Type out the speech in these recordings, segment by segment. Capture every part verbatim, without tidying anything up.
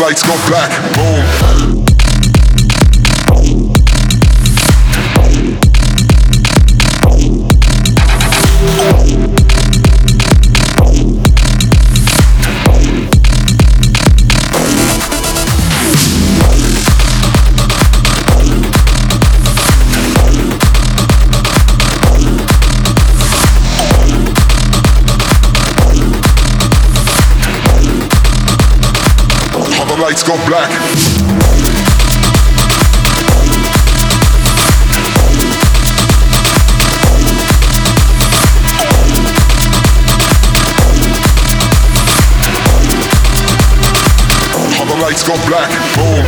lights go black, boom. Lights go black. All the lights go black, boom.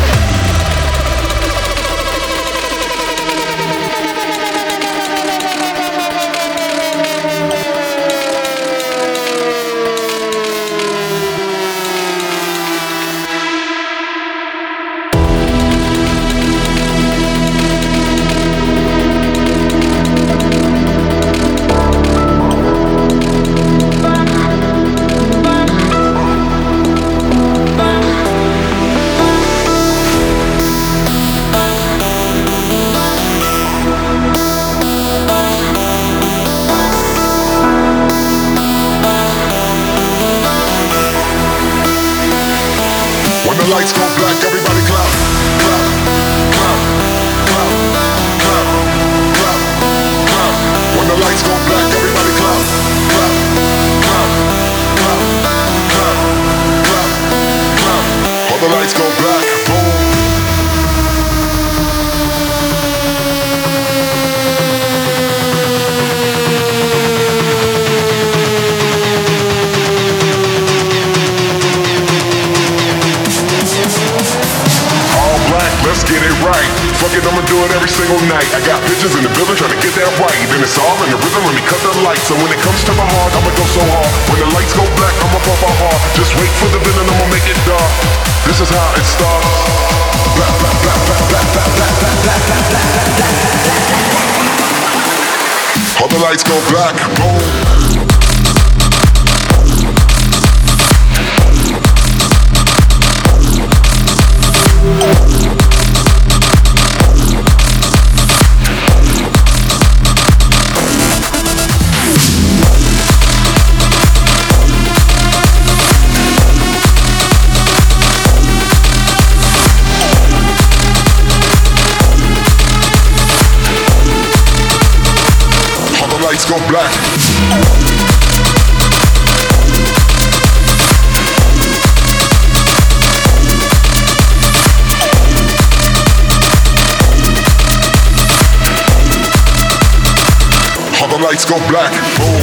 Lights go black, everybody clap, clap, clap, clap, clap, clap, clap. When the lights go black, everybody clap, clap, clap, clap, clap, clap, clap. All the lights go black, boom. Let's get it right. Fuck it, I'ma do it every single night. I got bitches in the building trying to get that right. Then it's all in the rhythm, let me cut the lights. So when it comes to my heart, I'ma go so hard. When the lights go black, I'ma pump my heart. Just wait for the villain, I'ma make it dark. This is how it starts. Black, black, black, black, black, black, black, black, black, black, black. All the lights go black, boom. Lights go black. All the lights go black. Boom.